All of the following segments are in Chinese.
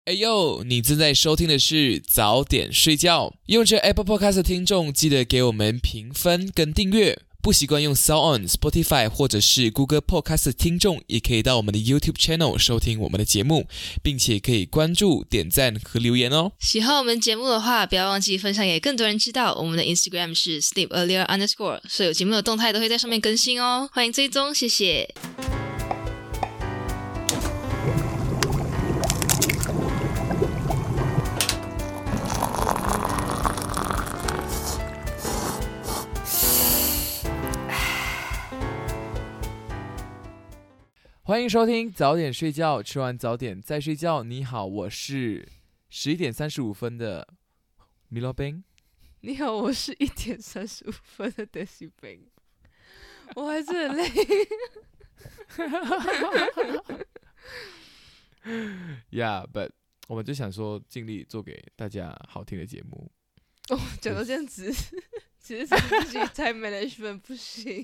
哎呦，你正在收听的是早点睡觉。用着 Apple Podcast 的听众，记得给我们评分跟订阅。不习惯用 SoundOn、Spotify 或者是 Google Podcast 的听众，也可以到我们的 YouTube Channel 收听我们的节目，并且可以关注、点赞和留言哦。 喜欢我们节目的话，不要忘记分享给更多人知道。我们的 Instagram 是 sleepearlier_，所有节目的动态都会在上面更新哦，欢迎追踪，谢谢。 欢迎收听早点睡觉，吃完早点再睡觉。你好，我是11:35的米洛宾。 你好，我是1:35的 Desi Bang， 我还是很累。 Yeah, but 我们就想说尽力做给大家好听的节目。 哦，讲到这样子，其实是自己 time management 不行。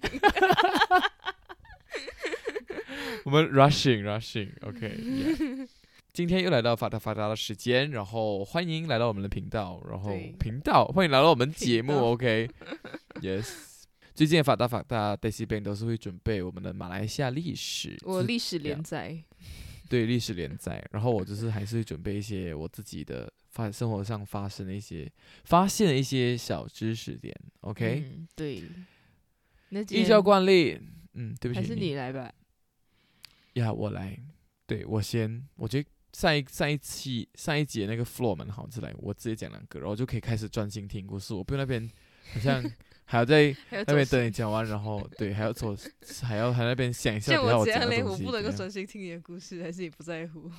我们 rushing，OK，今天又来到发达的时间，然后欢迎来到我们的频道，然后欢迎来到我们节目 ，OK，Yes。最近的发达 Desi Bang 都是会准备我们的马来西亚历史， 我历史连载， 对历史连载，然后我就是还是会准备一些我自己的生活上发现的一些小知识点 ，OK， 对。 依照惯例，对不起， 还是你来吧。 呀，我来，对我先，我觉得上一节那个 floor 蛮好，我直接讲2个，然后就可以开始专心听故事，我不用那边好像还要在那边等你讲完，然后对还要那边想一下等下我讲的东西。 我不能够专心听你的故事，还是你不在乎？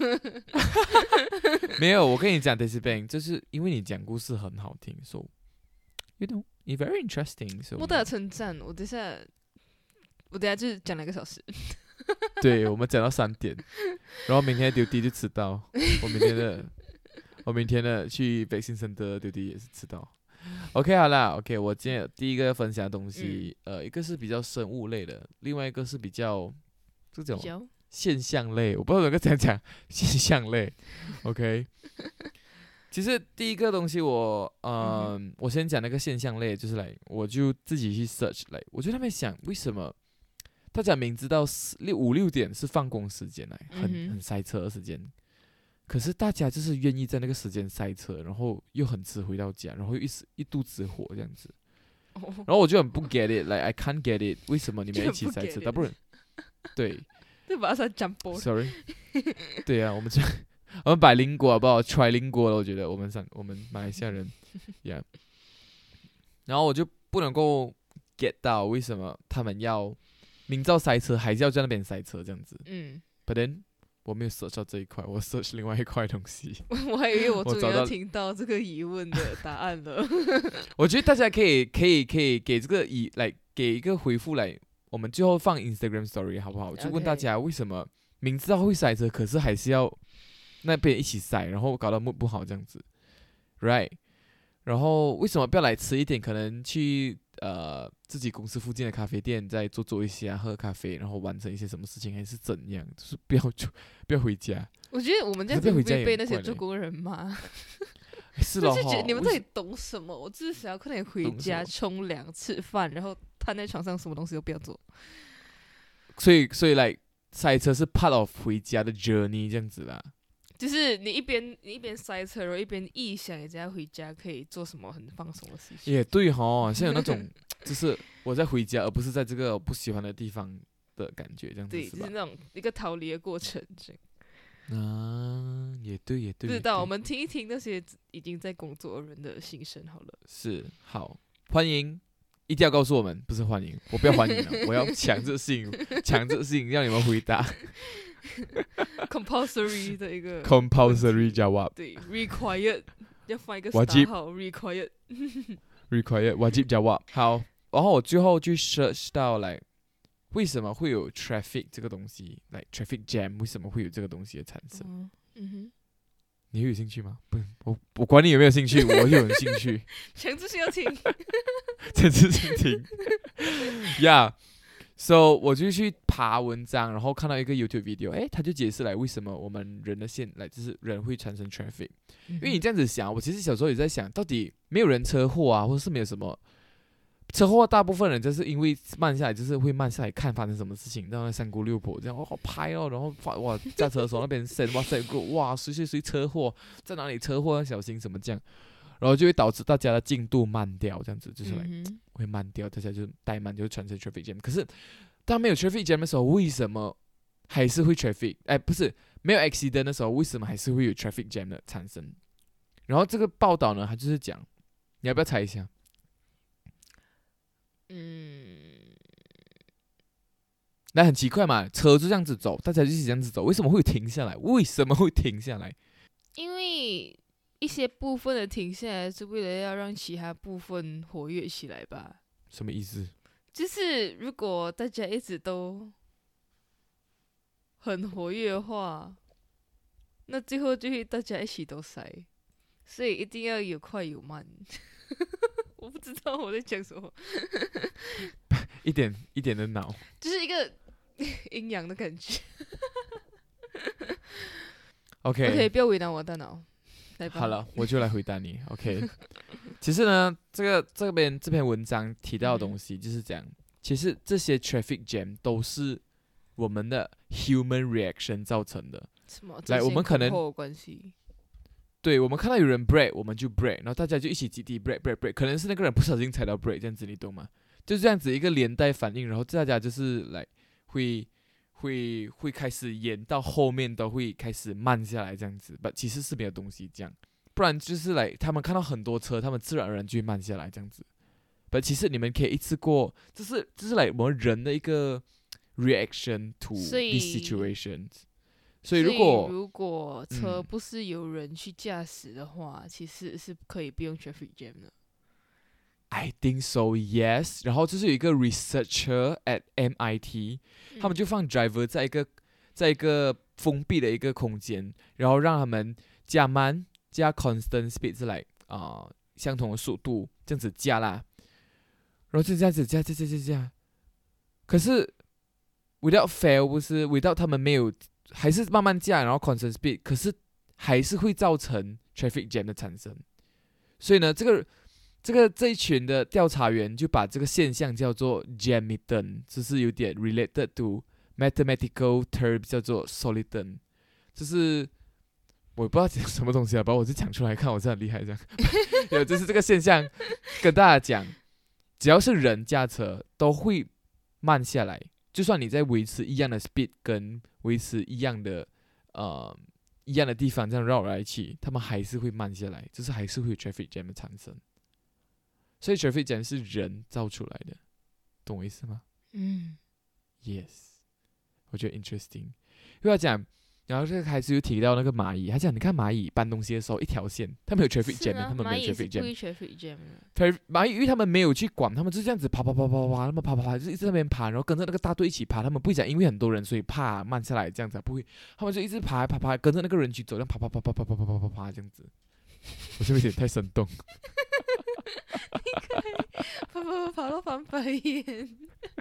没有，我跟你讲 Desi Bang 就是因为你讲故事很好听 ，so you know it's very interesting。 莫大的称赞，我等下就是讲2个小时。 对，我们讲到3点，然后明天丢地就迟到。我明天的去北新生的丢地也是迟到。OK， 好啦 ，OK， 我今天第一个分享的东西，一个是比较生物类的，另外一个是比较这种现象类，我不知道怎么讲现象类。OK， 其实第一个东西我先讲那个现象类，就是我就自己去 search 我就在那边想为什么。大家明知道5、6点是放工时间很塞车的时间，可是大家就是愿意在那个时间塞车，然后又很迟回到家，然后又一肚子火这样子。然后我就很不 get it，I can't get it， 为什么你们一起塞车？大不然对， 对吧？是讲波 ，sorry， 对啊，我们百灵果好不好 ？try 灵果了，我觉得我们马来西亚人，yeah。然后我就不能够 get 到为什么他们要。明知道塞车还是要在那边塞车这样子，but then 我没有 search 到这一块，我 search 另外一块东西。 我还以为我终于要听到这个疑问的答案了。 我觉得大家可以给这个给一个回复我们最后放 Instagram Story 好不好？就问大家为什么明知道会塞车，可是还是要那边一起塞，然后搞得不好这样子 ，right？ 然后为什么不要来迟一点？可能去自己公司附近的咖啡店再坐一下，喝咖啡，然后完成一些什么事情，还是怎样？就是不要回家。 我觉得我们这样子会被那些做工人骂。 是咯， 就觉得你们到底懂什么？我只是想要快点回家冲凉、吃饭，然后瘫在床上，什么东西都不要做。 所以塞车是 part of 回家的 journey 这样子啦。 就是你一边塞车，然后一边臆想人家回家可以做什么很放松的事情。 也对齁，像有那种就是我在回家，而不是在这个我不喜欢的地方的感觉，这样子对， 是吧？ 就是那种一个逃离的过程。 也对。 不知道，我们听一听那些已经在工作的人的心声好了。 是，好，欢迎，一定要告诉我们，不是欢迎，我不要欢迎了，我要强制性让你们回答。 compulsory 的一个 compulsory jawab， 对 required 要放一个 wajib 号 required wajib jawab。 好，然后我最后去 search 到为什么会有 traffic 这个东西traffic jam 为什么会有这个东西的产生。你会有兴趣吗？不，我管你有没有兴趣，我就有兴趣。 强制性要听强制性听呀。 So 我就去爬文章，然后看到一个 YouTube video，他就解释来为什么我们人的就是人会产生 traffic。因为你这样子想，我其实小时候也在想，到底没有人车祸啊，或者是没有什么车祸，大部分人就是因为慢下来，就是会慢下来看发生什么事情，然后三姑六婆这样拍哦，然后哇驾车的时候那边哇塞哇谁车祸，在哪里车祸要小心什么这样，然后就会导致大家的进度慢掉，这样子就是会慢掉，大家就怠慢，就会产生 traffic jam。可是当没有 traffic jam 的时候，为什么还是会 traffic？ 不是没有 accident 的时候，为什么还是会有 traffic jam 的产生？然后这个报道呢，它就是讲，你要不要猜一下？那很奇怪嘛，车就这样子走，大家就一起这样子走，为什么会停下来？为什么会停下来？ 因为一些部分的停下来是为了要让其他部分活跃起来吧？ 什么意思？ 就是如果大家一直都很活跃的话，那最后就会大家一起都塞，所以一定要有快有慢。我不知道我在讲什么， 一点一点的脑， 就是一个阴阳的感觉。 OK， 不要为难我大脑。 好了，我就来回答你。OK， 其实呢，这篇文章提到的东西就是讲，其实这些 traffic jam 都是我们的 human reaction 造成的。 什么？ 来，我们可能关系。 对，我们看到有人 brake， 我们就 brake， 然后大家就一起集体 brake， 可能是那个人不小心踩到 brake， 这样子你懂吗？就是这样子一个连带反应，然后大家就是来会开始演到后面都会开始慢下来这样子，其实是没有东西这样，不然就是来他们看到很多车，他们自然而然就会慢下来这样子。其实你们可以一次过，这是来我们人的一个 reaction to these situations。所以如果车不是有人去驾驶的话，其实是可以不用 traffic jam 的。 I think so, yes。然后就是有一个 researcher at MIT，他们就放 driver 在一个封闭的一个空间，然后让他们加慢加 constant speed 是来相同的速度这样子加啦，然后就这样子加。可是 without fail 不是 without 他们没有。还是慢慢加，然后 constant speed， 可是还是会造成 traffic jam 的产生。所以呢，这一群的调查员就把这个现象叫做 Jamitten， 就是有点 related to mathematical term 叫做 solidum， 就是我不知道讲什么东西啊，把我就讲出来看，我是很厉害这样。有就是这个现象跟大家讲，只要是人驾车都会慢下来。就算你在维持一样的 speed 跟维持一样的地方这样绕来去，他们还是会慢下来，就是还是会有 traffic jam 的产生。所以 traffic jam 是人造出来的，懂我意思吗？Yes， 我觉得 interesting， 因为他讲，然后这个开始又提到那个蚂蚁，他讲你看蚂蚁搬东西的时候一条线，他们有 traffic jam， 他们没有 traffic jam。蚂蚁因为他们没有去管，他们就这样子爬，他们爬，就一直在那边爬，然后跟着那个大队一起爬，他们不会讲因为很多人所以怕慢下来这样子，不会，他们就一直爬，跟着那个人去走，这样爬这样子。我是不是有点太生动？ 爬到翻白眼。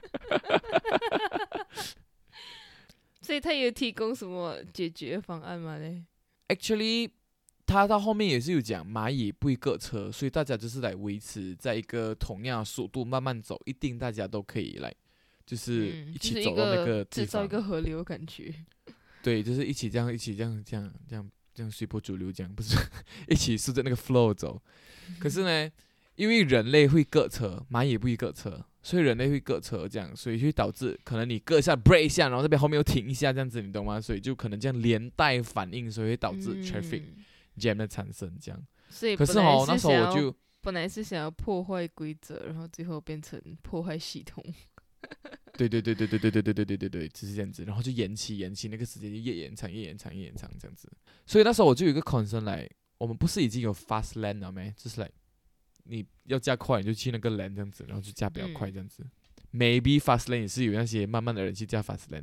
所以他有提供什么解决方案吗嘞 ？Actually， 他到后面也是有讲蚂蚁不会隔车，所以大家就是来维持在一个同样的速度慢慢走，一定大家都可以来，就是一起走到那个地方， 制造一个河流感觉。 对，就是一起这样随波逐流这样，不是一起顺着那个 flow 走。可是呢，因为人类会隔车，蚂蚁不会隔车。所以人类会隔车这样，所以会导致可能你隔一下 break 一下，然后这边后面又停一下这样子，你懂吗？所以就可能这样连带反应，所以会导致 traffic jam 的产生这样。 所以可是那时候我就本来是想要破坏规则，然后最后变成破坏系统。 对，就是这样子，然后就延期那个时间就越延长这样子。所以那时候我就有一个 concern 来，我们不是已经有 fast lane 了没？就是来。你要加快，你就去那个 lane 这样子，然后就加比较快这样子。Maybe fast lane 也是有那些慢慢的人去加 fast lane 。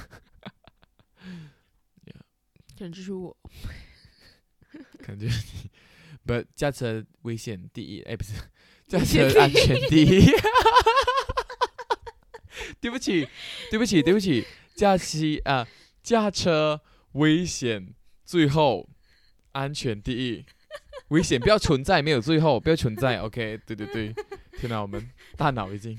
可能就是我， 可能就是你。不，驾车危险第一，不是，驾车安全第一。 对不起，驾车危险，最后安全第一，危险不要存在，没有最后，不要存在。OK， 对，天哪，我们大脑已经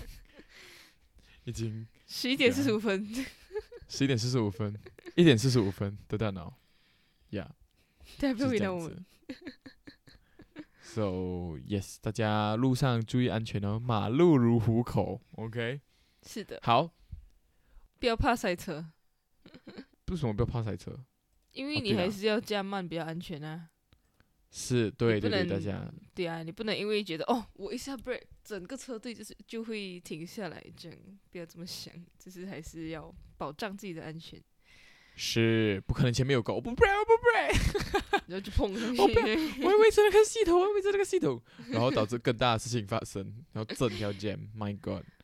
11:45， 11:45， 1:45的大脑太就是这样子。So yes， 大家路上注意安全哦，马路如虎口。OK， 是的， 好， 不要怕塞车， 为什么不要怕塞车？ 因为你对啊还是要加慢比较安全啊。 是对， 你不能大家对啊，你不能因为觉得我一下 break， 整个车队就会停下来，这样不要这么想，就是还是要保障自己的安全， 是不可能前面有狗，我不 break， 然后就碰上去。 我要维持那个系统，然后导致更大的事情发生，然后整条 jam，My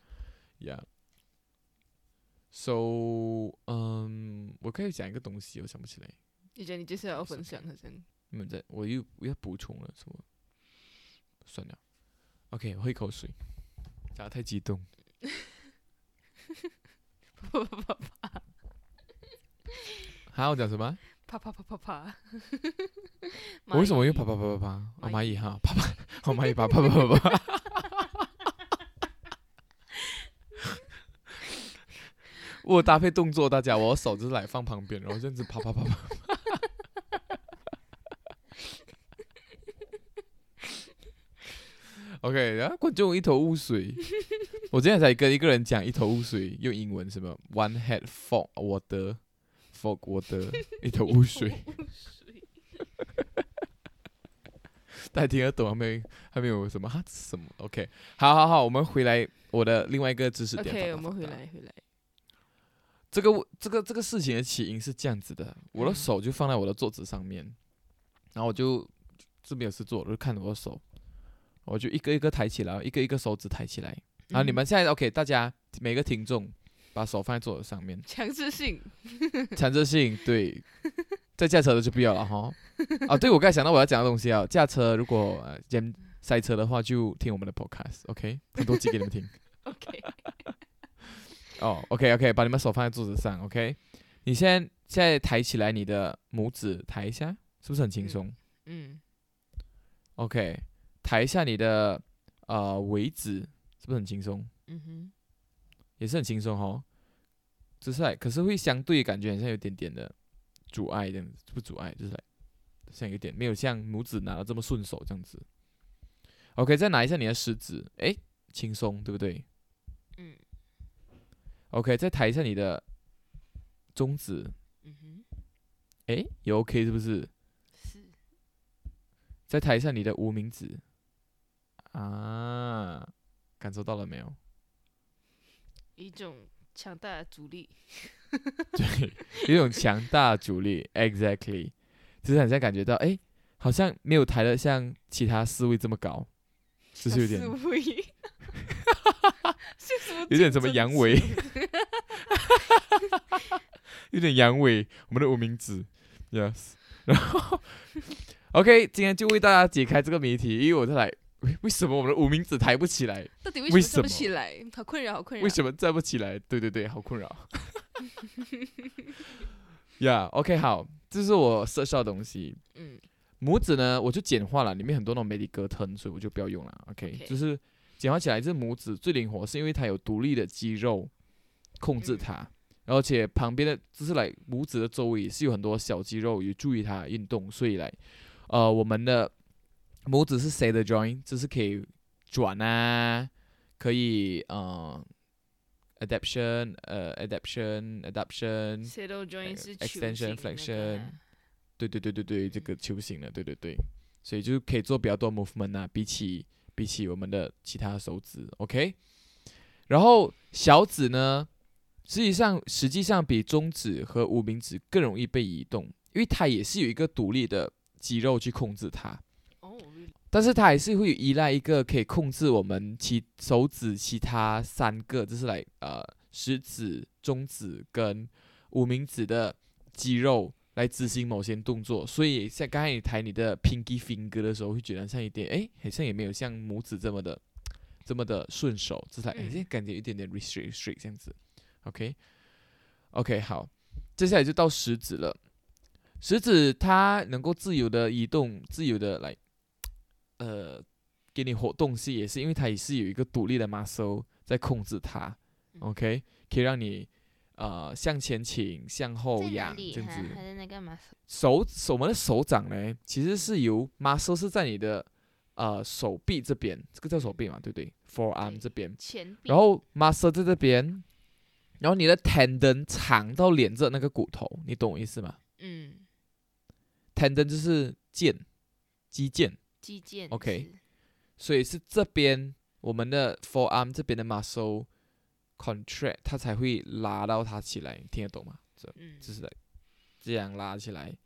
God，Yeah。So， 我可以讲一个东西，我想不起来。 你觉得你接下来要分享好像？ 你们我又要补充了什么？算了 ，OK， 我喝一口水，讲得太激动。还我讲什么？ 啪啪啪啪啪！ 我为什么又啪啪啪啪啪？哦，蚂蚁哈，啪啪，哦蚂蚁啪啪啪啪啪。我搭配动作，大家，我手就是来放旁边，然后这样子啪啪啪啪。OK， 然后观众一头雾水。我今天才跟一个人讲一头雾水，用英文什么 one head fog water， 一头雾水。大家听得懂还没有什么什么 ？OK， 好，我们回来我的另外一个知识点。 OK， 我们回来。 这个事情的起因是这样子的，我的手就放在我的桌子上面，然后我就没有事做，我就看着我的手。我就一个一个抬起来，一个一个手指抬起来。然后你们现在 OK， 大家每个听众把手放在桌子上面， 强制性， 对。在驾车的就不要了哈。对，我刚才想到我要讲的东西啊，驾车如果塞车的话，就听我们的 podcast，OK， 很多集给你们听。 OK。 OK， 把你们手放在桌子上 ，OK。你现在抬起来你的拇指，抬一下，是不是很轻松？OK。抬一下你的尾指，是不是很轻松？也是很轻松哦。就是可是会相对感觉好像有点点的阻碍这样子，不阻碍，就是像有点没有像拇指拿的这么顺手这样子。OK， 再拿一下你的食指，轻松，对不对？OK， 再抬一下你的中指，也 OK 是不是？ 是。 再抬一下你的无名指。感受到了没有？ 一种强大的阻力。 对，一种强大的阻力 ，exactly， 就是很像感觉到，好像没有抬得像其他四位这么高，就是有点，有点什么阳痿，有点阳痿，我们的无名指 ，yes， 然后 ，OK， 今天就为大家解开这个谜题，因为我在来。为什么我们的无名指抬不起来？ 到底为什么站不起来？好困扰。 为什么站不起来？对，好困扰。OK， 好，这是我设到的东西。拇指呢，我就简化了，里面很多那种 medical term， 所以我就不要用了。OK， 就是简化起来，这拇指最灵活，是因为它有独立的肌肉控制它，而且旁边的就是拇指的周围是有很多小肌肉有助于它运动，所以我们的拇指是 saddle joint， 就是可以转可以adaptation saddle joint 是 extension flexion， 对，这个球形的，对，所以就可以做比较多 movement 比起我们的其他手指 ，OK。然后小指呢，实际上比中指和无名指更容易被移动，因为它也是有一个独立的肌肉去控制它。但是它还是会依赖一个可以控制我们手指其他3个，就是食指、中指跟无名指的肌肉来执行某些动作。所以像刚才你抬你的 pinky finger 的时候，会觉得像一点好像也没有像拇指这么的这么的顺手，就是现在感觉有一点点 restrict 这样子。OK， 好，接下来就到食指了。食指它能够自由的移动，自由的来，给你活动是也是因为它也是有一个独立的 muscle 在控制它。OK， 可以让你向前倾、向后仰这样子。 还是那个吗？ 我们的手掌呢，其实是由 muscle 是在你的手臂这边，这个叫手臂嘛，对不对 ？forearm 这边， 前臂， 然后 muscle 在这边，然后你的 tendon 长到连着那个骨头，你懂我意思吗？tendon 就是肌腱，OK，所以是这边我们的 forearm 这边的 muscle contract， 它才会拉到它起来，听得懂吗？就是这样拉起来，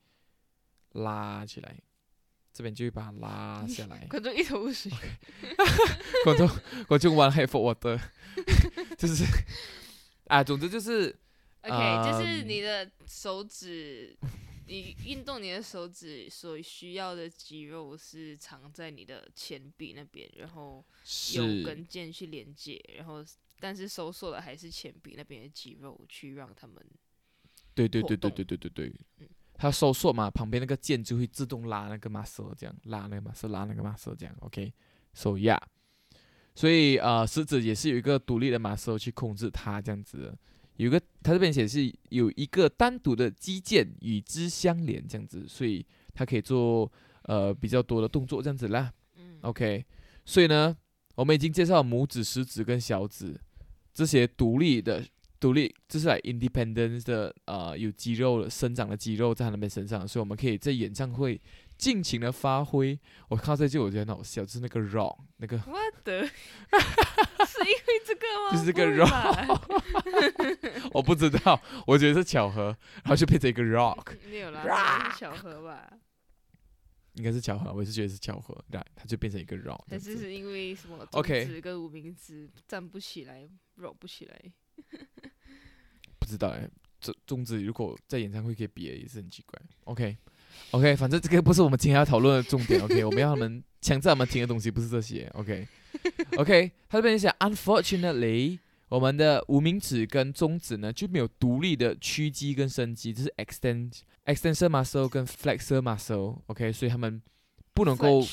这边就会把它拉下来。 观众一头雾水。 观众玩 head forward， 就是总之就是 OK， 就是你的手指。你运动你的手指所需要的肌肉是藏在你的前臂那边，然后有跟腱去连接，然后但是收缩的还是前臂那边的肌肉去让他们对，它收缩嘛，旁边那个腱就会自动拉那个 muscle， 这样拉那个 muscle 这样 OK，so yeah， 所以食指也是有一个独立的 muscle 去控制它这样子的。它这边显示有一个单独的肌腱与之相连，这样子，所以它可以做比较多的动作这样子啦。OK， 所以呢，我们已经介绍了拇指、食指跟小指这些独立，就是independent 的有肌肉生长的肌肉在他们身上，所以我们可以在演唱会尽情的发挥。我看到这句我觉得很好笑，就是那个 rock 那个 What the 是因为这个吗？ 就是这个 rock 我不知道，我觉得是巧合，然后就变成一个 rock。 没有啦，是巧合吧？ 应该是巧合，我也是觉得是巧合，它就变成一个 rock。 还是因为什么中指跟无名指站不起来 rock 不起来？ 不知道中指如果在演唱会可以比也是很奇怪。OK， 反正这个不是我们今天要讨论的重点。OK， 我们要他们强制他们听的东西不是这些。OK， 他这边讲 ，Unfortunately， 我们的无名指跟中指呢就没有独立的屈肌跟伸肌，这是 extensor muscle 跟 flexor muscle。OK， 所以他们不能够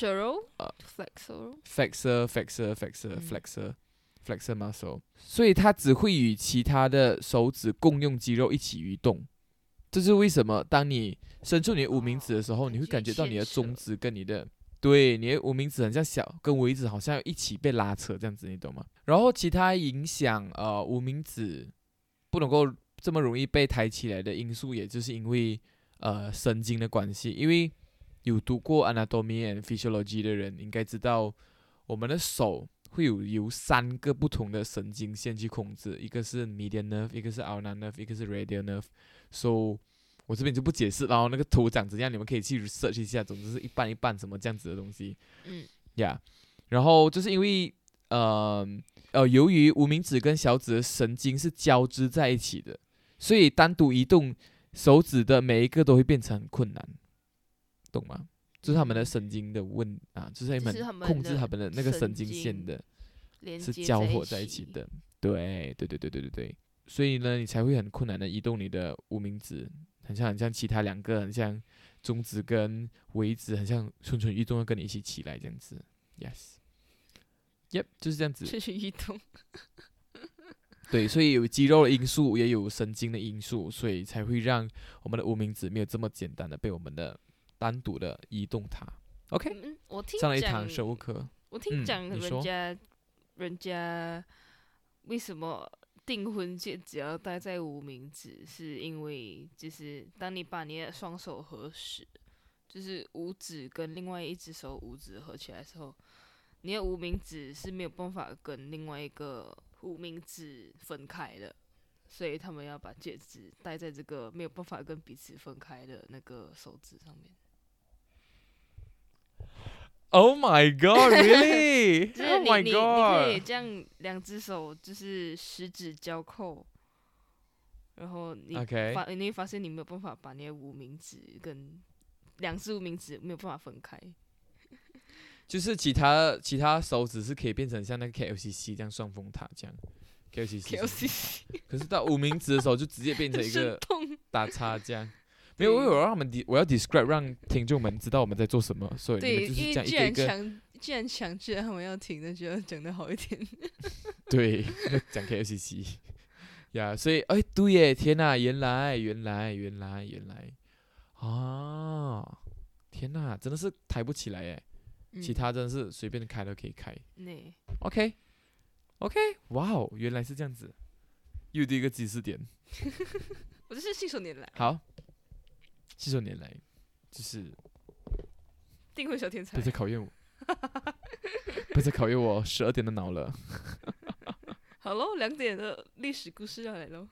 flexor muscle， 所以它只会与其他的手指共用肌肉一起移动。这是为什么？当你伸出你的无名指的时候，你会感觉到你的中指跟你的无名指很像跟尾指好像一起被拉扯这样子，你懂吗？然后其他影响无名指不能够这么容易被抬起来的因素，也就是因为神经的关系。因为有读过 anatomy and physiology 的人应该知道，我们的手会由3个不同的神经线去控制，一个是 median nerve， 一个是 ulnar nerve， 一个是 radial nerve。So 我这边就不解释，然后那个图长怎样，你们可以去 research 一下。总之是一半一半什么这样子的东西。然后就是因为由于无名指跟小指的神经是交织在一起的，所以单独移动手指的每一个都会变成很困难，懂吗？就是他们的神经的就是他们控制他们的那个神经线的是交合在一起的。对，所以呢，你才会很困难的移动你的无名指，很像其他2个，很像中指跟尾指，很像蠢蠢欲动要跟你一起起来这样子。Yes，Yep， 就是这样子。 蠢蠢欲动。 对，所以有肌肉的因素，也有神经的因素，所以才会让我们的无名指没有这么简单的被我们的单独的移动它。OK，上了一堂生物课。 我听讲人家为什么订婚戒只要戴在无名指，是因为就是当你把你的双手合十，就是五指跟另外一只手五指合起来的时候，你的无名指是没有办法跟另外一个无名指分开的，所以他们要把戒指戴在这个没有办法跟彼此分开的那个手指上面。 Oh my god, really? 就是 Oh my 你 god. 可以这样2只手就是十指交扣，然后你会发现你没有办法把你的无名指跟2只无名指没有办法分开。 就是其他手指是可以变成像那个 KLCC 这样双峰塔这样 KLCC， 可是到无名指的时候就直接变成一个打叉这样。没有，我让我要 describe 让听众们知道我们在做什么，所以你们就是这样一个一个。 既然强制他们要听，那就要讲得好一点。 对，讲 KLCC 呀，所以对耶，天哪，原来啊，天哪，真的是抬不起来耶。其他真的是随便开都可以开。OK， 哇哦，原来是这样子，又第一个知识点。 我这是信手拈来。 好，信手拈来，就是订婚小天才。 不再考验我，不再考验我12点的脑了。 好喽，2点的历史故事要来喽。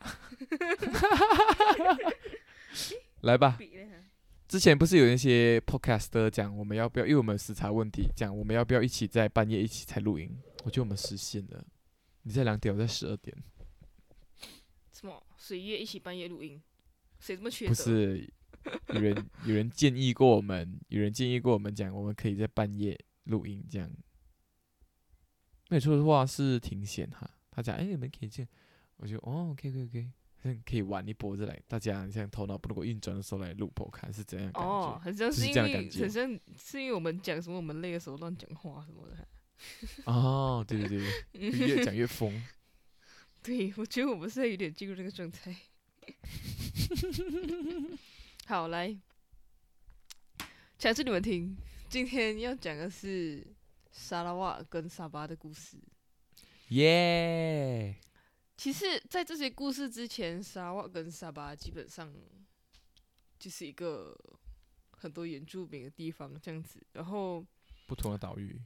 来吧。之前不是有一些 podcaster 讲我们要不要，因为我们有时差问题，讲我们要不要一起在半夜一起才录音？我觉得我们实现了。你在2点，我在12点。 什么？谁约一起半夜录音？谁这么缺德？ 不是，有人建议过我们，讲我们可以在半夜录音，这样。没有错的话是挺险哈。他讲你们可以这样，我就可以。可以玩一波着来，大家像头脑不能够运转的时候来录播看是怎样感觉？ 很像是因为是因为我们讲什么我们累的时候乱讲话什么的。 对，越讲越疯。 对，我觉得我们现在有点进入那个状态。好，来，讲给你们听。今天要讲的是沙拉瓦跟沙巴的故事。 耶！ 其实，在这些故事之前，沙拉瓦跟沙巴基本上就是一个很多原住民的地方这样子。然后不同的岛屿。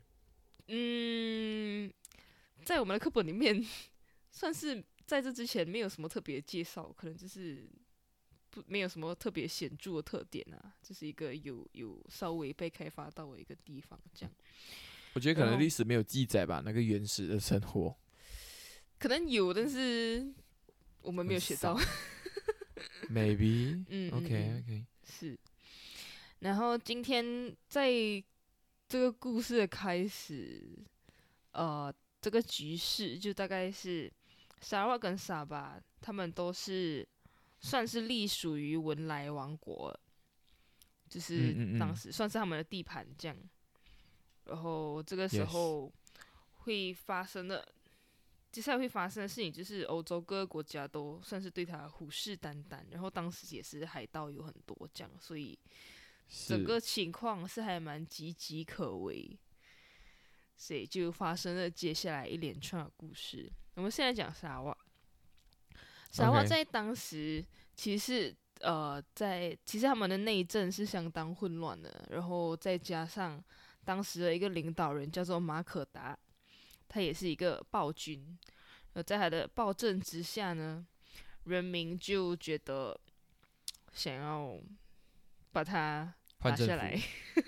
在我们的课本里面，算是在这之前没有什么特别介绍，可能就是没有什么特别显著的特点啊，就是一个有稍微被开发到的一个地方这样。 我觉得可能历史没有记载吧，那个原始的生活。 可能有，但是我们没有学到。 Maybe， OK， 是。然后今天在这个故事的开始，这个局势就大概是沙拉瓦跟沙巴，他们都是算是隶属于文莱王国，就是当时算是他们的地盘这样。然后这个时候会发生的。接下来会发生的事情就是欧洲各个国家都算是对他虎视眈眈，然后当时也是海盗有很多这样，所以整个情况是还蛮岌岌可危，所以就发生了接下来一连串的故事。我们现在讲沙拉瓦。沙拉瓦在当时其实他们的内政是相当混乱的，然后再加上当时的一个领导人叫做马可达。他也是一个暴君，在他的暴政之下呢，人民就觉得想要把他拿下来。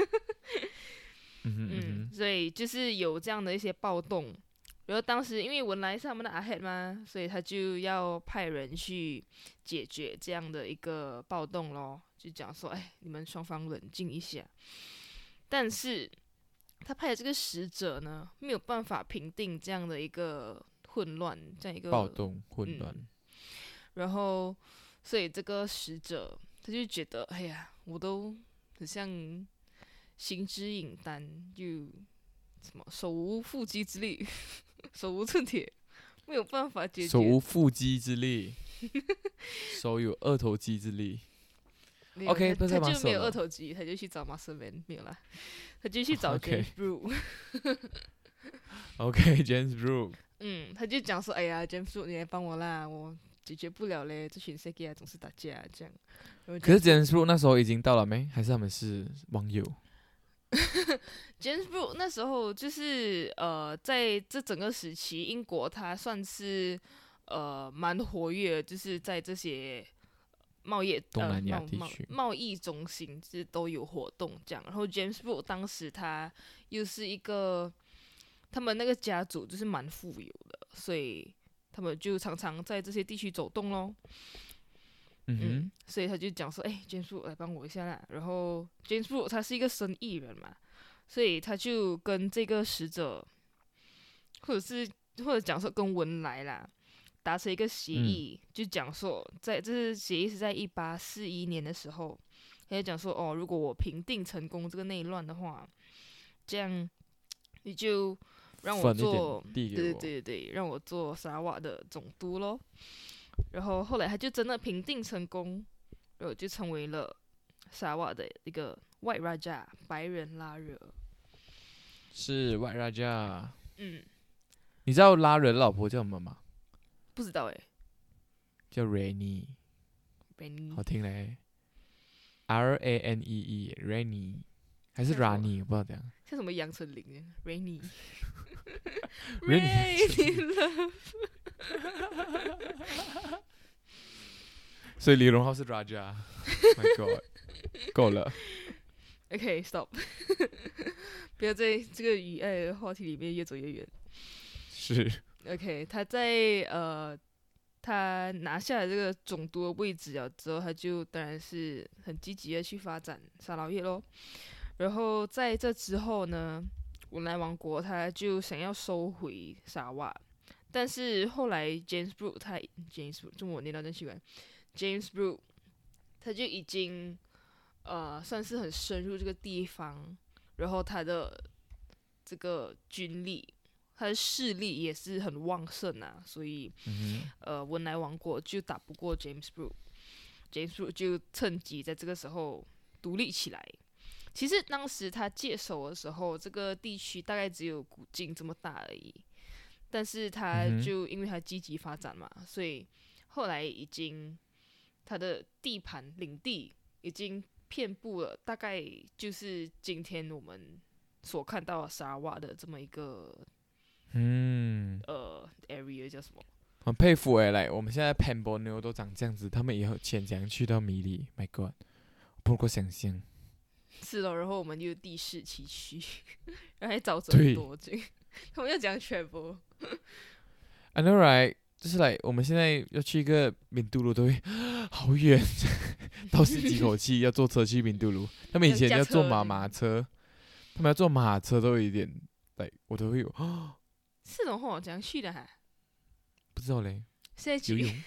所以就是有这样的一些暴动。然后当时因为文莱是他们的阿黑嘛，所以他就要派人去解决这样的一个暴动咯，就讲说，你们双方冷静一下。但是他派的这个使者呢，没有办法平定这样的一个混乱，这样一个暴动混乱。 然后，所以这个使者他就觉得，我都很像行之隐单，就什么手无缚鸡之力，手无寸铁，没有办法解决。 手无缚鸡之力，手有二头肌之力。OK， 他就没有二头肌，他就去找 Muscle Man， 没有啦。他就去找 James Brooke。James Brooke。 他就讲说，James Brooke， 你来帮我啦，我解决不了嘞，这群 Seki 总是打架这样。 可是 James Brooke 那时候已经到了没？还是他们是网友 ？James Brooke 那时候就是在这整个时期，英国它算是蛮活跃，就是在这些。 东南亚地区贸易中心就是都有活动这样，然后 James Brooke 当时他又是一个，他们那个家族就是蛮富有的，所以他们就常常在这些地区走动咯。所以他就讲说，James Brooke 来帮我一下啦。然后 James Brooke 他是一个生意人嘛， 所以他就跟这个使者，或者讲说跟文莱啦，达成一个协议，就讲说这是协议是在1841年的时候，他就讲说哦，如果我平定成功这个内乱的话，这样你就让我做，对，让我做沙瓦的总督咯。然后后来他就真的平定成功，然后就成为了沙瓦的一个 White Raja 白人拉惹。 是 White Raja。 嗯， 你知道拉惹的老婆叫什么吗？ 不知道欸。 叫 Rainy， 好听嘞。RANEE Rainy 还是 Rani 我不知道怎样。 像什么杨丞琳Rainy Love 所以李荣浩是 Raja。 My God， 够了。 OK stop 不要在这个语爱的话题里面越走越远。 是 OK， 他拿下了这个总督的位置了之后，他就当然是很积极的去发展沙劳越咯。然后在这之后呢，文莱王国他就想要收回沙瓦，但是后来 James Brooke 中文我念到真奇怪 ，James Brooke 他就已经算是很深入这个地方，然后他的这个军力，他的势力也是很旺盛啊，所以文莱王国就打不过 James Brooke，James Brooke 就趁机在这个时候独立起来。其实当时他接手的时候，这个地区大概只有古晋这么大而已，但是他就因为他积极发展嘛，所以后来已经他的地盘领地已经遍布了，大概就是今天我们所看到的沙瓦的这么一个area 叫什么？ 很佩服来我们现在 Pembrokeshire 都长这样子，他们以后潜怎样去到米里 ？My God， 不能够想象。 是咯，然后我们又地势崎岖，然后还沼泽很多，他们要讲全部。 I know right， 就是我们现在要去一个敏都鲁都会好远，倒吸几口气，要坐车去敏都鲁。他们以前要坐马车，他们要坐马车都有一点，我都会有。 是的话，怎样去的哈？ 不知道嘞。 现在游泳。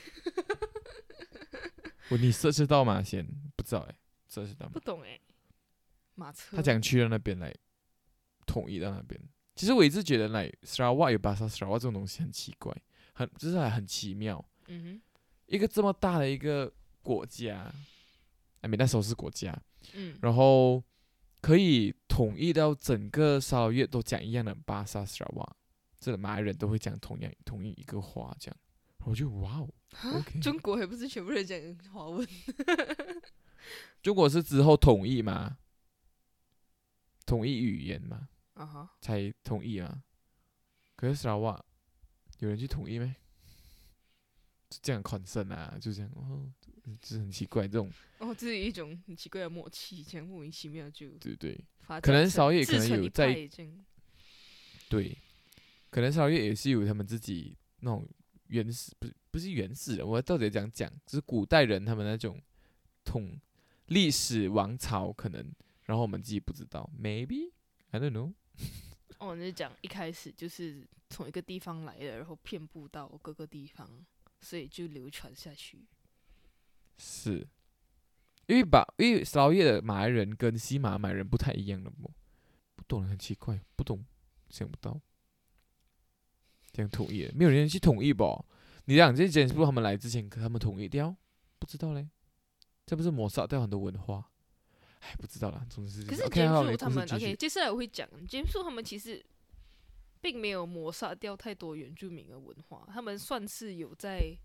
你涉知道吗？先不知道涉知道吗？ 不懂马车。 他讲去到那边统一到那边。其实我一直觉得Sarawak 有巴萨 Sarawak 这种东西很奇怪，就是很奇妙。一个这么大的一个国家，那时候是国家，然后可以统一到整个沙劳越都讲一样的巴萨 Sarawak， 这马来人都会讲同一一个话，这样，我就哇哦 ，OK。 中国还不是全部人讲华文？ 中国是之后统一嘛？统一语言嘛，才统一嘛。可是沙拉瓦有人去统一没？就这样concern啊，就这样就是很奇怪这种。 这是一种很奇怪的默契，这样莫名其妙就对，可能沙劳越可能有在对，可能沙劳越也是有他们自己那种原始，不是原始人，我到底讲，就是古代人他们那种历史王朝可能。然后我们自己不知道 ，maybe I don't know。 你就讲一开始就是从一个地方来的，然后遍布到各个地方，所以就流传下去。 是，因为沙劳越的马来人跟西马来人不太一样的不懂很奇怪，不懂想不到，这样统一了，没有人去统一吧？你讲这些是不是他们来之前他们统一掉？不知道嘞，这不是抹杀掉很多文化？不知道啦，总之可是James Brooke他们 OK， 接下来我会讲James Brooke他们其实并没有抹杀掉太多原住民的文化，他们算是有在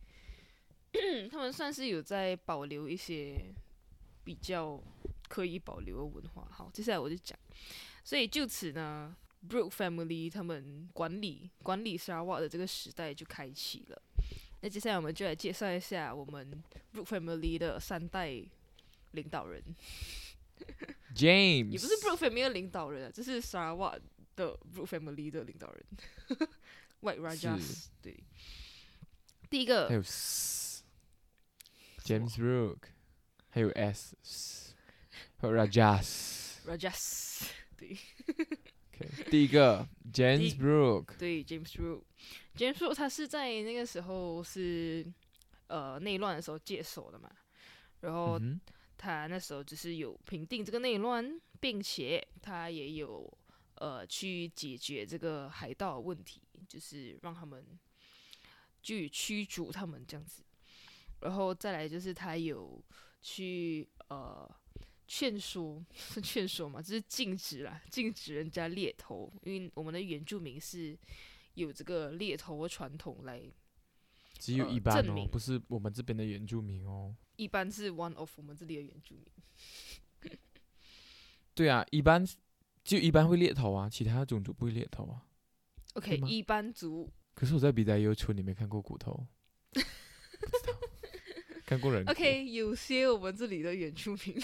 保留一些比较可以保留的文化。好，接下来我就讲，所以就此呢 ，Brooke family 他们管理沙拉瓦的这个时代就开启了。那接下来我们就来介绍一下我们 Brooke family 的3代领导人。 James 也不是 Brooke family 的领导人这是 Sarawak 的 Brooke family 的领导人White Rajas。 对，第一个还有 James Brooke， 还有 S， 还有 Rajas。 对。 OK， 第一个 James Brooke， 对 James Brooke，James Brooke 他是在那个时候是内乱的时候接手的嘛，然后他那时候就是有平定这个内乱，并且他也有去解决这个海盗的问题，就是让他们去驱逐他们这样子。然后再来就是他有去劝说是劝说嘛，就是禁止人家猎头，因为我们的原住民是有这个猎头的传统来。 只有一般哦，不是我们这边的原住民哦。 一般是 one of 我们这里的原住民。 对啊，一般会猎头啊，其他种族不会猎头啊。 OK， 一般族。 可是我在比达悠村里面看过骨头，不知道看过人骨。 OK， 有些我们这里的原住民。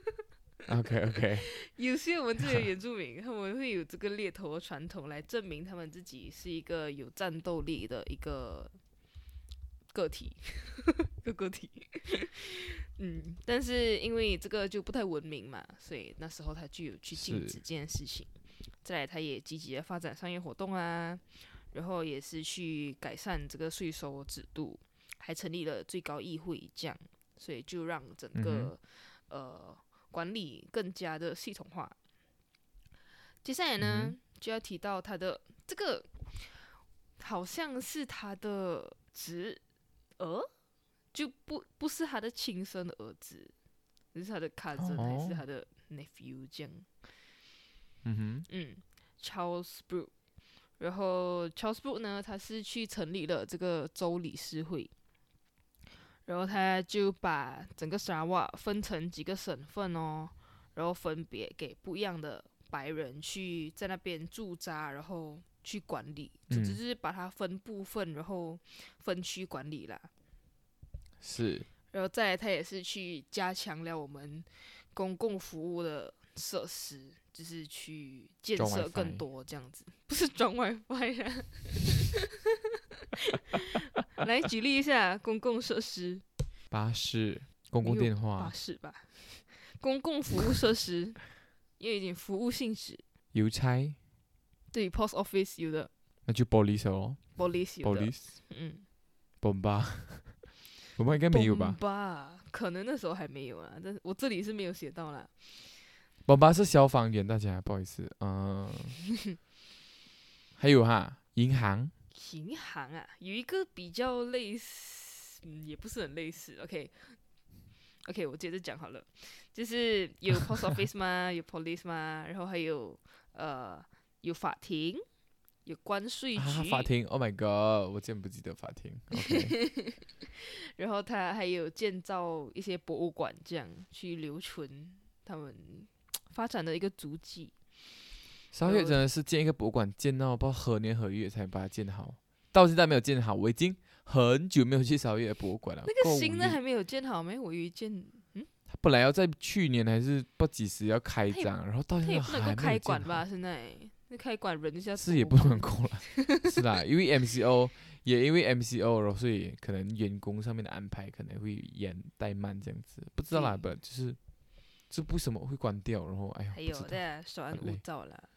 OK， 有些我们这里的原住民，他们会有这个猎头的传统来证明他们自己是一个有战斗力的一个个体。个体。但是因为这个就不太文明嘛，所以那时候他就有去禁止这件事情。再来，他也积极的发展商业活动啊，然后也是去改善这个税收制度，还成立了最高议会，这样，所以就让整个管理更加的系统化。接下来呢，就要提到他的这个，好像是他的侄儿，就不是他的亲生的儿子，是他的 cousin、还是他的 nephew 这样。Charles Brooke， 然后 Charles Brooke 呢，他是去成立了这个州理事会，然后他就把整个沙瓦分成几个省份哦，然后分别给不一样的白人去在那边驻扎，然后去管理，就是把它分部分，然后分区管理啦。 是。 然后再来，他也是去加强了我们公共服务的设施，就是去建设更多这样子，不是装 WiFi 啊。来举例一下公共设施。 巴士、公共电话。 巴士吧，公共服务设施，也有一点服务性质。 邮差。 对 ，post office 有的。 那就 police 哦。 police 有的。 police。bomba。bomba 应该没有吧 ？bomba 可能那时候还没有啊，但是我这里是没有写到啦。 bomba 是消防员，大家不好意思。还有哈，银行。 银行啊，有一个比较类似，也不是很类似。OK， 我接着讲好了，就是有 post office 嘛，有 police 嘛，然后还有有法庭，有关税局。 法庭 ，Oh my God， 我竟然不记得法庭。OK。 然后他还有建造一些博物馆，这样去留存他们发展的一个足迹。 沙月真的是建一个博物馆，建到不知道何年何月才把它建好，到现在没有建好。我已经很久没有去沙月的博物馆了。 那个新的还没有建好没？我以为建， 他本来要在去年还是不知几时要开张，然后到现在还没有建好。 他也不能够开馆吧？现在那开馆人家是也不能够了。是啦，因为 MCO 也因为 MCO， 然后所以可能员工上面的安排可能会怠慢这样子，不知道啦，不就是这为什么会关掉？然后哎呀， 还有在稍安勿躁啦。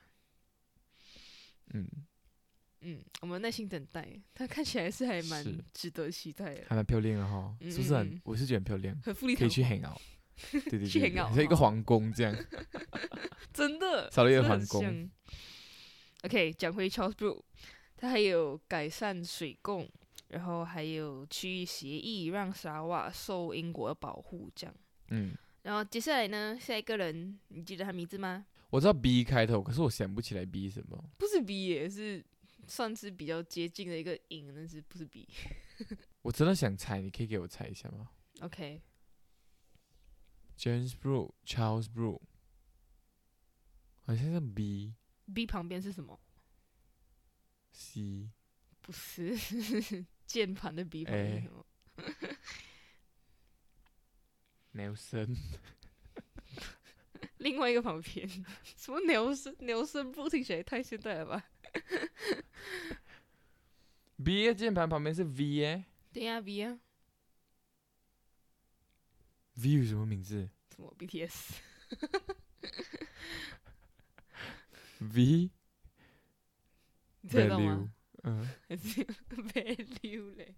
我们耐心等待，它看起来是还蛮值得期待的， 还蛮漂亮的哈，是不是很？我是觉得很漂亮， 很富丽堂皇， 可以去 hang out。对， 去 hang out， 像一个皇宫这样。 真的， 少了一个皇宫。 OK， 讲回 Charles Brooke， 他还有改善水供，然后还有区域协议，让沙瓦受英国的保护，这样。然后接下来呢，下一个人，你记得他名字吗？ 我知道 B 开头，可是我想不起来 B 什么。 不是 B 也是算是比较接近的一个音，但是不是 B。 我真的想猜，你可以给我猜一下吗 ？OK。James Brooke， Charles Brooke， 好像是 B。B 旁边是什么 ？C。 不是，键盘的 B 旁边是什么 ？Nelson。 另外一个旁边，什么Nelson不听起来太现代了吧 ？B 的键盘旁边是 V 耶。 对呀 ，V 啊。 V 有什么名字？ 什么 BTS？ V 你猜得到 value， 吗？还是 value 嘞？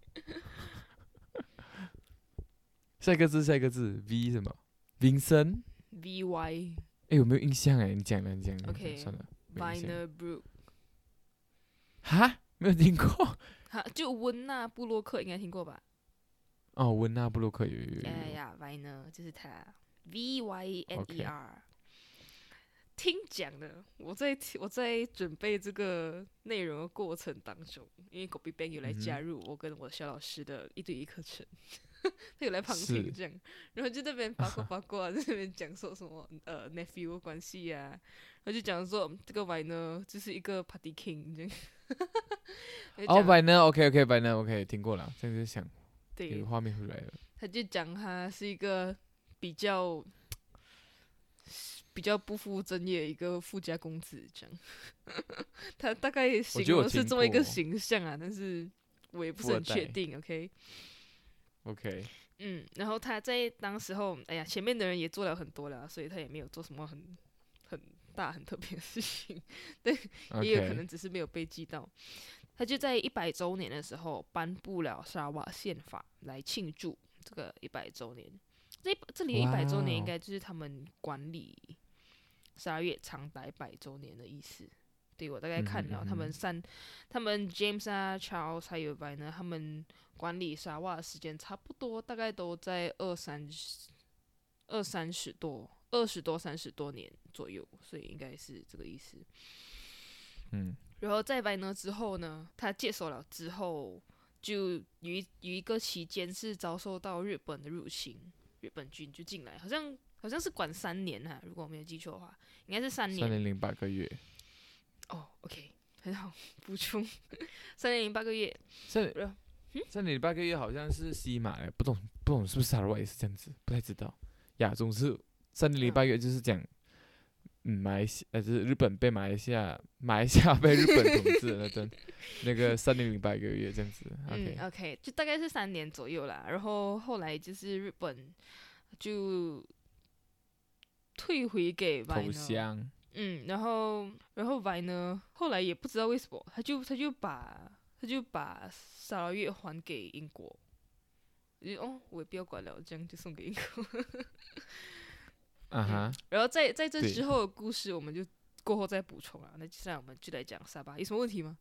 下一个字，V 什么？Vincent， VY 有没有印象你讲了， OK 算了，没印象 Viner Brook 哈，没有听过。 哈，就温纳布洛克应该听过吧？ 哦，温纳布洛克有。 呀，Viner 就是他，VYNER。听讲的，我在准备这个内容的过程当中，因为狗比 Bang 有来加入我跟我小老师的1对1课程，他有来旁听这样，然后就在那边八卦，在那边讲说什么nephew 关系啊，然后就讲说这个 Viner 就是一个 Party King 这样。 Viner，OK，Viner，OK，听过了，这样就想有画面回来了。 他就讲他是一个比较不负正业的一个富家公子这样，他大概形容是这么一个形象啊，但是我也不是很确定。OK， 然后他在当时候，哎呀，前面的人也做了很多了，所以他也没有做什么很大很特别的事情，对，也有可能只是没有被记到。他就在100周年的时候颁布了沙瓦宪法来庆祝这个100周年。这里100周年应该就是他们管理沙拉越长达100周年的意思。对，我大概看了他们James 啊 Charles 还有 Viner 他们管理沙瓦的时间差不多，大概都在20多30多年左右，所以应该是这个意思。然后在 Viner 之后呢，他接手了之后，就有一个期间是遭受到日本的入侵，日本军就进来，好像是管3年哈，如果我没有记错的话，应该是3年。 3年08个月。 OK， 很好，补充3年08个月。 3年08个月好像是西马的，不懂是不是沙拉瓦也是这样子，不太知道。总之3年08个月就是讲。马来西亚就是日本被马来西亚被日本统治的那段，那个3年08个月这样子。 OK， 就大概是3年左右啦。然后后来就是日本就退回给 Viner 投降。 然后 Viner 后来也不知道为什么，他就把沙拉越还给英国，我也不要管了，这样就送给英国。然后在这之后的故事，我们就过后再补充啊。那接下来我们就来讲沙巴，有什么问题吗？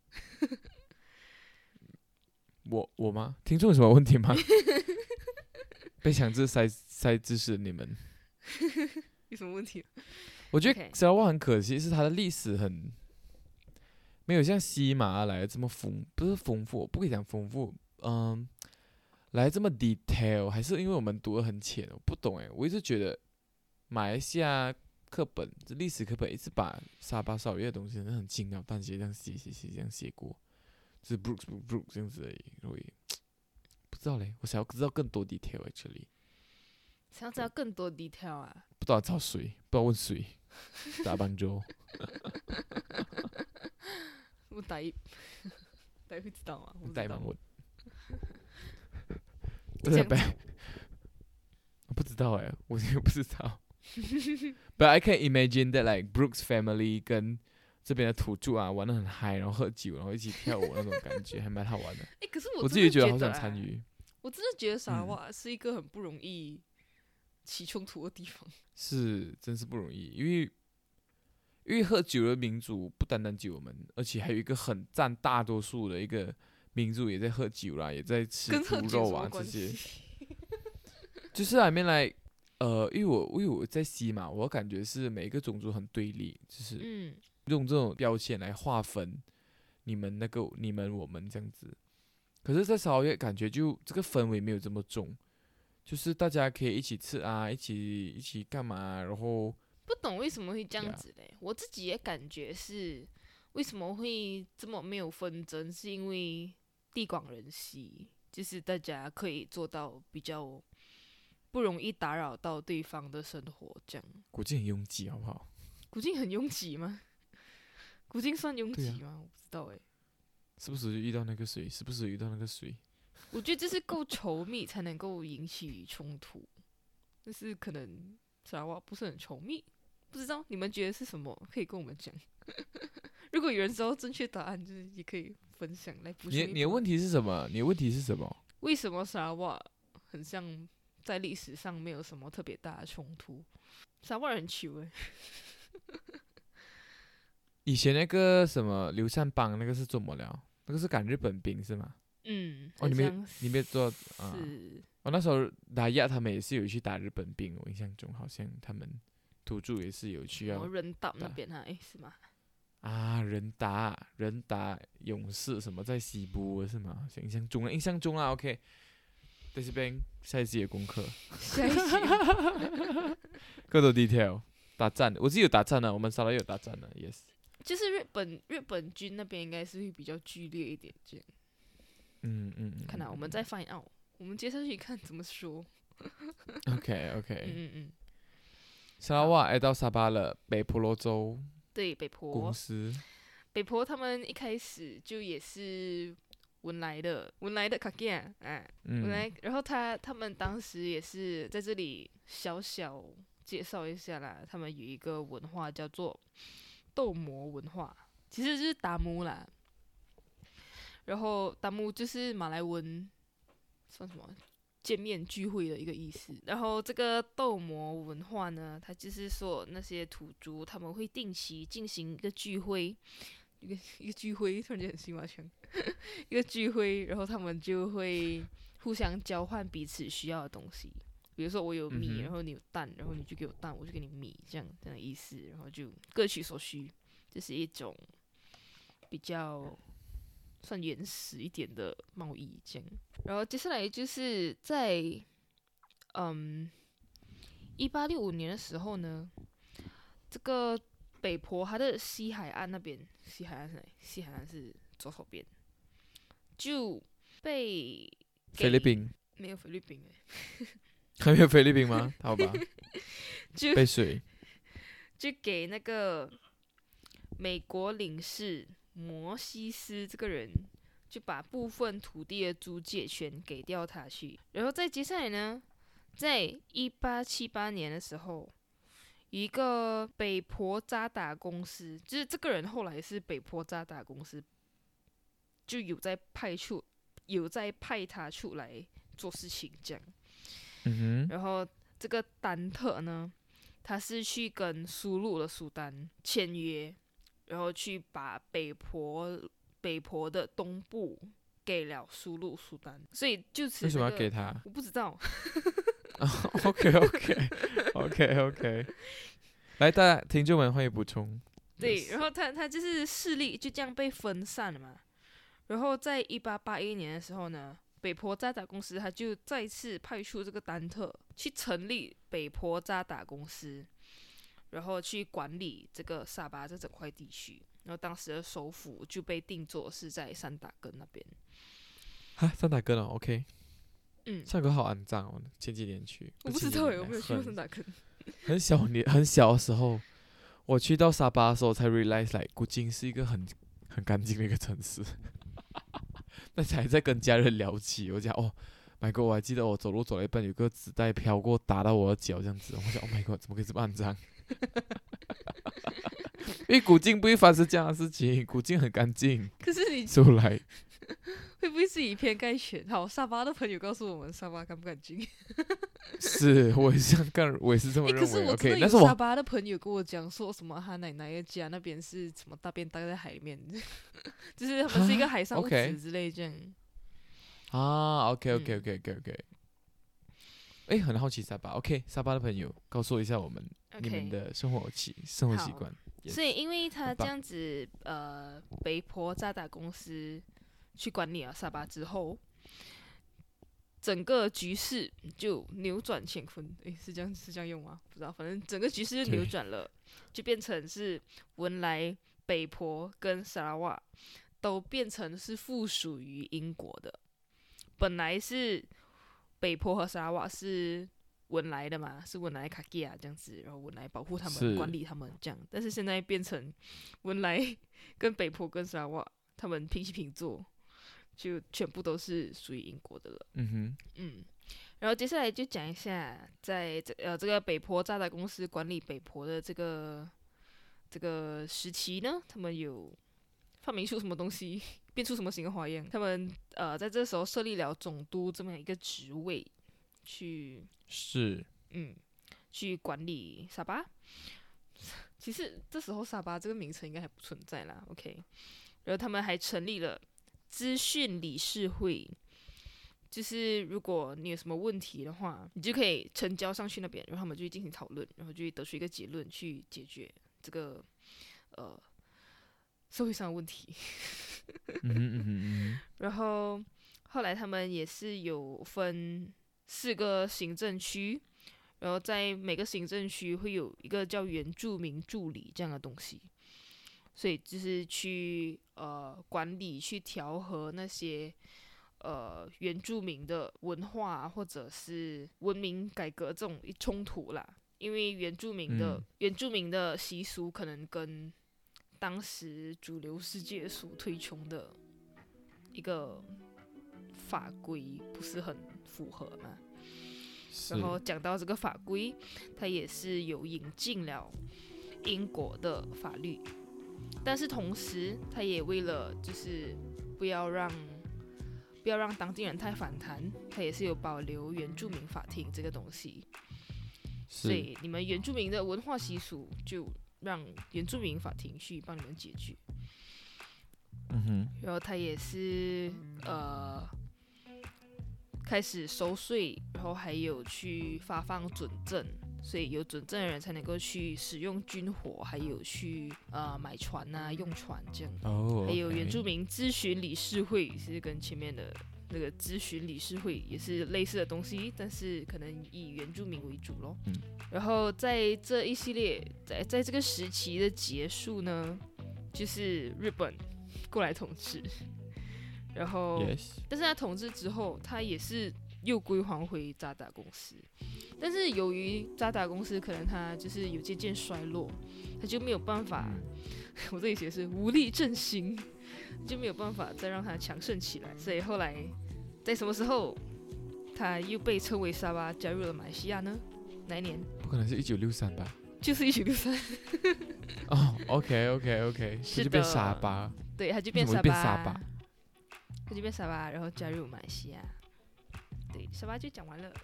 我吗？听众有什么问题吗？被强制塞知识你们有什么问题？ 我觉得沙拉瓦很可惜，是它的历史很没有像西马来的这么不是丰富，不可以讲丰富，来这么 detail， 还是因为我们读得很浅，我不懂我一直觉得。马来西亚课本，历史课本一直把沙巴沙拉越的东西很轻描淡写这样写这样写过，就是 Brooks 这样子而已。我也不知道嘞，我想要知道更多 detail actually。 想要知道更多 detail 啊？ 不知道找谁，不知道问谁，打棒球。 我打会知道吗？ 打棒问。我不知道我也不知道。But I can imagine that like Brooks family 跟这边的土著玩得很嗨，然后喝酒，然后一起跳舞那种感觉，还蛮好玩的。 可是我自己觉得好想参与。 我真的觉得沙拉瓦是一个很不容易起冲突的地方。 是，真是不容易，因为喝酒的民族不单单酒们，而且还有一个很占大多数的一个民族也在喝酒啦，也在吃猪肉啊这些。就是I mean like因为我在西马，我感觉是每一个种族很对立，就是用这种标签来划分你们我们这样子。可是，在沙拉越感觉就这个氛围没有这么重，就是大家可以一起吃啊，一起干嘛，然后不懂为什么会这样子嘞？我自己也感觉是为什么会这么没有纷争，是因为地广人稀，就是大家可以做到比较。不容易打扰到对方的生活，这样。 古晋很拥挤，好不好？ 古晋很拥挤吗？古晋算拥挤吗？我不知道是不是遇到那个水？是不是遇到那个水？ 我觉得这是够稠密才能够引起冲突，但是可能沙拉瓦不是很稠密， 不知道你们觉得是什么？可以跟我们讲。如果有人知道正确答案，就是也可以分享来补充一波。 你的问题是什么？你的问题是什么？ 为什么沙瓦很像在历史上没有什么特别大的冲突？沙瓦人很糗诶。 以前那个什么刘善邦那个是怎么了？那个是赶日本兵是吗？ 哦， 你没做啊？ 是那时候打亚他们也是有去打日本兵，我印象中好像他们土著也是有去要人岛那边啊？是吗？ 人打勇士什么在西部是吗？印象中啦 ，OK。在这边下一集的功课， 下一集各种 detail 打战，我自己有打战的，我们沙拉也有打战的 ，yes。 就是日本军那边应该是会比较剧烈一点，这样。看来我们再 find out， 我们接下去看怎么说。 OK。沙拉瓦来到沙巴了，北婆罗洲。 对，北婆公司。 北婆他们一开始就也是文莱的卡吉啊，文莱，然后他们当时也是在这里小小介绍一下啦，他们有一个文化叫做斗魔文化，其实就是达姆啦。然后达姆就是马来文算什么见面聚会的一个意思。然后这个斗魔文化呢，它就是说那些土著他们会定期进行一个聚会，一个聚会，突然间很新华腔，一个聚会，然后他们就会互相交换彼此需要的东西。比如说我有米，然后你有蛋，然后你就给我蛋，我就给你米，这样的意思，然后就各取所需，这是一种比较算原始一点的贸易这样。然后接下来就是在1865年的时候呢，这个北婆它的西海岸那边，西海岸是哪里？西海岸是左手边，就被菲律宾没有菲律宾还没有菲律宾吗？好吧，被水就给那个美国领事摩西斯这个人，就把部分土地的租借权给掉他去。然后再接下来呢，在1878年的时候，一个北婆渣打公司，就是这个人后来是北婆渣打公司，就有在派他出来做事情这样。然后这个丹特呢，他是去跟苏禄的苏丹签约，然后去把北婆的东部给了苏禄苏丹，所以就此、 为什么要给他？ 我不知道。 OK， 来，大家听众们欢迎补充。 对，然后他就是势力就这样被分散了嘛。然后在1881年的时候呢，北婆渣打公司他就再次派出这个丹特去成立北婆渣打公司，然后去管理这个沙巴这整块地区。然后当时的首府就被定作是在三打根那边。 三打根哦 ，OK。上个好肮脏哦，前几年去。 我不知道我没有去过三打根。 很小的时候，我去到沙巴的时候才 realize， like 古晋是一个很干净的一个城市。那才在跟家人聊起，我讲哦 ，My God， 我还记得我走路走了一半，有个纸袋飘过，打到我的脚这样子，我想 Oh my God， 怎么可以这么肮脏？因为古晋不会发生这样的事情，古晋很干净。 可是你出来会不会是以偏概全？好，沙巴的朋友告诉我们，沙巴干不干净？ 是，我也是这么认为。 可是我真的有沙巴的朋友跟我讲说什么，他奶奶的家那边是什么大便待在海里面，就是他们是一个海上物质之类这样。 OK。很好奇沙巴。OK， 沙巴的朋友告诉一下我们你们的生活习惯。 所以因为他这样子，北婆渣打公司去管理了沙巴之后，整个局势就扭转乾坤。是这样用吗？不知道，反正整个局势就扭转了，就变成是文莱、北婆跟沙拉瓦都变成是附属于英国的。本来是北婆和沙拉瓦是文莱的嘛，是文莱卡基亚这样子，然后文莱保护他们、管理他们这样。但是现在变成文莱跟北婆跟沙拉瓦他们平起平坐，就全部都是属于英国的了。 然后接下来就讲一下，在这个北坡炸弹公司管理北坡的这个时期呢，他们有发明出什么东西，变出什么新的花样。他们在这时候设立了总督这么一个职位，去管理沙巴。其实这时候沙巴这个名称应该还不存在啦 ，OK。然后他们还成立了资讯理事会，就是如果你有什么问题的话，你就可以呈交上去那边，然后他们就会进行讨论，然后就会得出一个结论去解决这个社会上的问题。然后后来他们也是有分4个行政区，然后在每个行政区会有一个叫原住民助理这样的东西，所以就是去管理、去调和那些原住民的文化或者是文明改革这种冲突啦。因为原住民的习俗可能跟当时主流世界所推崇的一个法规不是很符合嘛。然后讲到这个法规，它也是有引进了英国的法律，但是同时它也为了就是不要让当地人太反弹，它也是有保留原住民法庭这个东西。所以你们原住民的文化习俗就让原住民法庭去帮你们解决。然后他也是开始收税，然后还有去发放准证，所以有准证的人才能够去使用军火，还有去买船啊、用船这样。还有原住民咨询理事会是跟前面的那个咨询理事会也是类似的东西，但是可能以原住民为主咯。然后在这一系列在这个时期的结束呢，就是日本过来统治。然后但是他统治之后，他也是又归还回渣打公司，但是由于渣打公司可能他就是有渐渐衰落，他就没有办法，我这里写的是无力振兴，就没有办法再让他强盛起来，所以后来在什么时候他又被称为沙巴加入了马来西亚呢？哪一年？不可能是1963吧？ 就是1963。 哦 ，OK， 他就变沙巴， 对，他就变沙巴。他就变沙巴，然后加入马来西亚。对，沙巴就讲完了。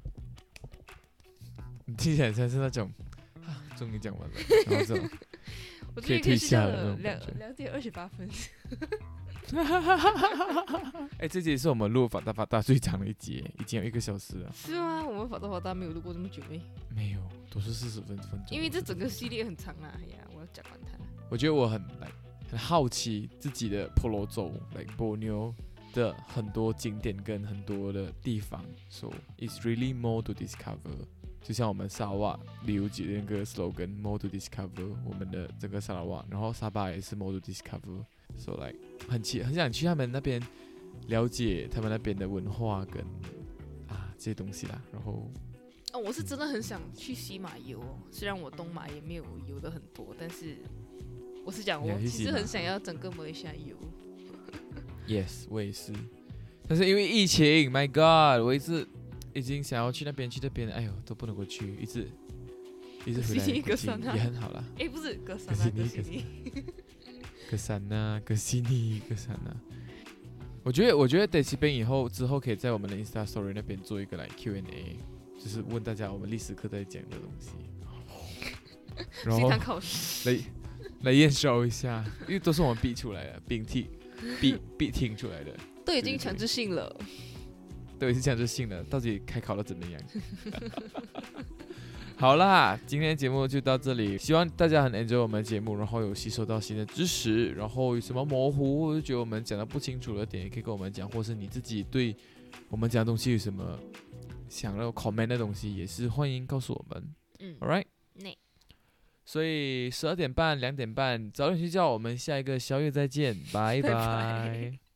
你听起来像是那种，终于讲完了，然后就可以退下了那种感觉。 2:28。 这集是我们录法大最长的一集，已经有1个小时了。 是吗？我们法大没有录过这么久没？ 没有，都是40分钟。 因为这整个系列很长啊，哎呀，我要讲完它。 我觉得我很好奇自己的婆罗洲Borneo 的很多景点跟很多的地方 ，so it's really more to discover。就像我们沙瓦旅游局的那个 slogan more to discover 我们的整个沙拉瓦，然后沙巴也是 more to discover，so like 很想去他们那边了解他们那边的文化跟这些东西啦。然后我是真的很想去西马游虽然我东马也没有游的很多，但是我是讲我其实很想要整个马来西亚游。 Yes， 我也是，但是因为疫情 ，My God， 我已经想要去那边，哎呦都不能够去，一直回来也很好啦。 不是格萨纳。我觉得得这边之后可以在我们的 Insta Story 那边做一个Q&A， 就是问大家我们历史课在讲的东西，然后考试来验收一下，因为都是我们逼出来的，逼听出来的， 都已经强制性了。 对，是强制性的，到底开考了怎么样？好啦，今天的节目就到这里，希望大家很 enjoy 我们的节目，然后有吸收到新的知识，然后有什么模糊或者觉得我们讲的不清楚的点，也可以跟我们讲，或是你自己对我们讲的东西有什么想要 comment 的东西，也是欢迎告诉我们。Alright， 所以12点半、2点半早点睡觉，我们下一个宵夜再见，拜拜。